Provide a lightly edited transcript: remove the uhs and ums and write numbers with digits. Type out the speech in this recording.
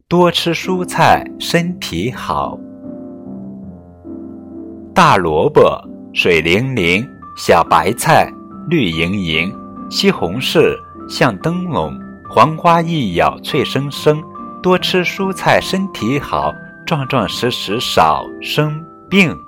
多吃蔬菜身体好。大萝卜水灵灵，小白菜绿莹莹，西红柿像灯笼，黄瓜一咬脆生生。多吃蔬菜身体好，壮壮实实少生病。